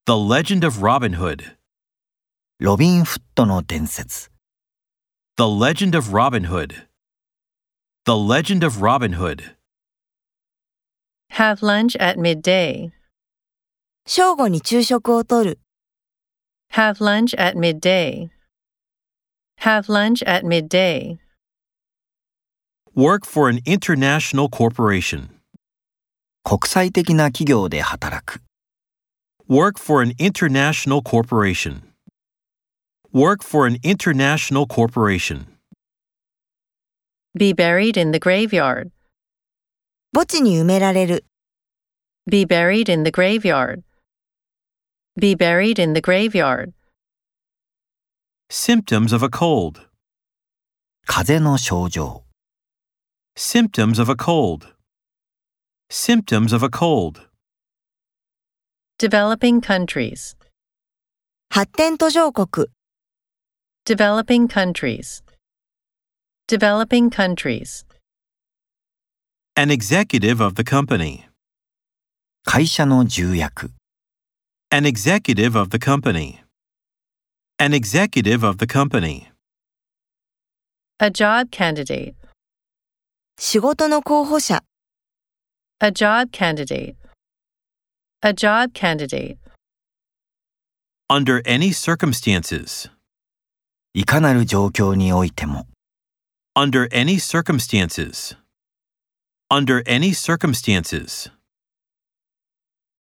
The Legend of Robin Hood. ロビン・フットの伝説。 The Legend of Robin Hood. The Legend of Robin Hood. Have lunch at midday. 正午に昼食をとる。 Have lunch at midday. Have lunch at midday. Work for an international corporation. 国際的な企業で働く。 Work for an international corporation. Work for an international corporation. Be buried in the graveyard. 墓地に埋められる。 Be buried in the graveyard. Be buried in the graveyard. Symptoms of a cold. 風邪の症状。 Symptoms of a cold. Symptoms of a cold. Developing countries. 発展途上国。 Developing countries. Developing countries. An executive of the company. 会社の重役。 An executive of the company. An executive of the company. A job candidate. 仕事の候補者。 A job candidate. A job candidate. Under any circumstances. いかなる状況においても。 Under any circumstances. Under any circumstances.